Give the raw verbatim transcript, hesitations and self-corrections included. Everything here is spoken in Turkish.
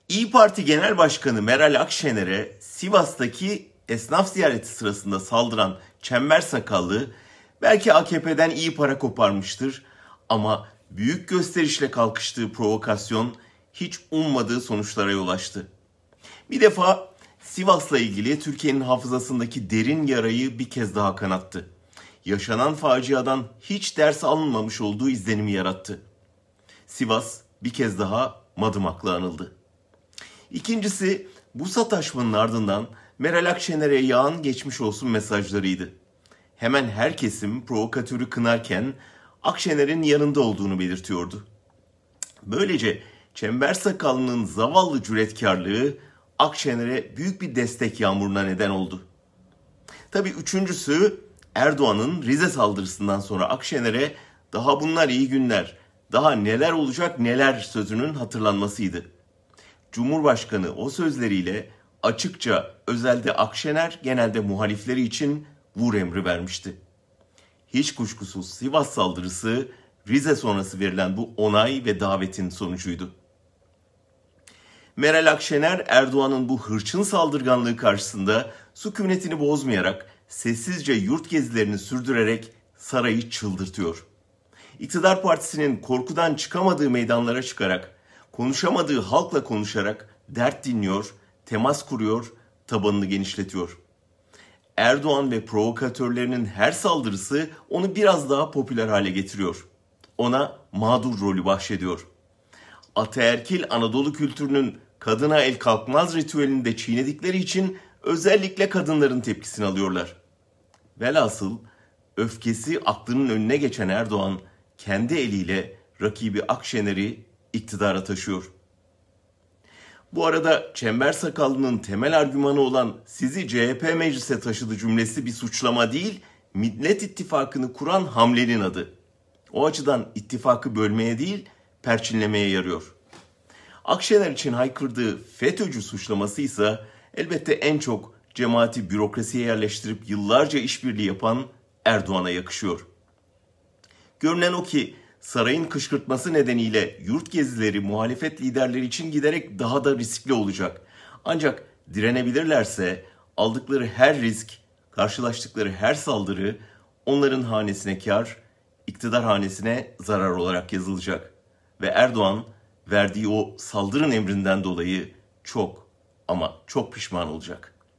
İyi Parti Genel Başkanı Meral Akşener'e Sivas'taki esnaf ziyareti sırasında saldıran Çember Sakallı belki A K P'den iyi para koparmıştır ama büyük gösterişle kalkıştığı provokasyon hiç ummadığı sonuçlara yol açtı. Bir defa Sivas'la ilgili Türkiye'nin hafızasındaki derin yarayı bir kez daha kanattı. Yaşanan faciadan hiç ders alınmamış olduğu izlenimi yarattı. Sivas bir kez daha Madımak'la anıldı. İkincisi, bu sataşmanın ardından Meral Akşener'e yağan geçmiş olsun mesajlarıydı. Hemen her kesim provokatörü kınarken Akşener'in yanında olduğunu belirtiyordu. Böylece Çember Sakallı'nın zavallı cüretkarlığı Akşener'e büyük bir destek yağmuruna neden oldu. Tabii üçüncüsü, Erdoğan'ın Rize saldırısından sonra Akşener'e daha bunlar iyi günler, daha neler olacak neler sözünün hatırlanmasıydı. Cumhurbaşkanı o sözleriyle açıkça özelde Akşener, genelde muhalifleri için vur emri vermişti. Hiç kuşkusuz Sivas saldırısı Rize sonrası verilen bu onay ve davetin sonucuydu. Meral Akşener, Erdoğan'ın bu hırçın saldırganlığı karşısında sükunetini bozmayarak sessizce yurt gezilerini sürdürerek sarayı çıldırtıyor. İktidar partisinin korkudan çıkamadığı meydanlara çıkarak, konuşamadığı halkla konuşarak dert dinliyor, temas kuruyor, tabanını genişletiyor. Erdoğan ve provokatörlerinin her saldırısı onu biraz daha popüler hale getiriyor. Ona mağdur rolü bahşediyor. Ataerkil Anadolu kültürünün kadına el kalkmaz ritüelini de çiğnedikleri için özellikle kadınların tepkisini alıyorlar. Velhasıl öfkesi aklının önüne geçen Erdoğan kendi eliyle rakibi Akşener'i iktidara taşıyor. Bu arada Çember Sakallı'nın temel argümanı olan sizi C H P meclise taşıdı cümlesi bir suçlama değil, Millet İttifakı'nı kuran hamlenin adı. O açıdan ittifakı bölmeye değil, perçinlemeye yarıyor. Akşener için haykırdığı FETÖ'cü suçlaması ise elbette en çok cemaati bürokrasiye yerleştirip yıllarca işbirliği yapan Erdoğan'a yakışıyor. Görünen o ki sarayın kışkırtması nedeniyle yurt gezileri muhalefet liderleri için giderek daha da riskli olacak. Ancak direnebilirlerse aldıkları her risk, karşılaştıkları her saldırı onların hanesine kar, iktidar hanesine zarar olarak yazılacak. Ve Erdoğan verdiği o saldırın emrinden dolayı çok ama çok pişman olacak.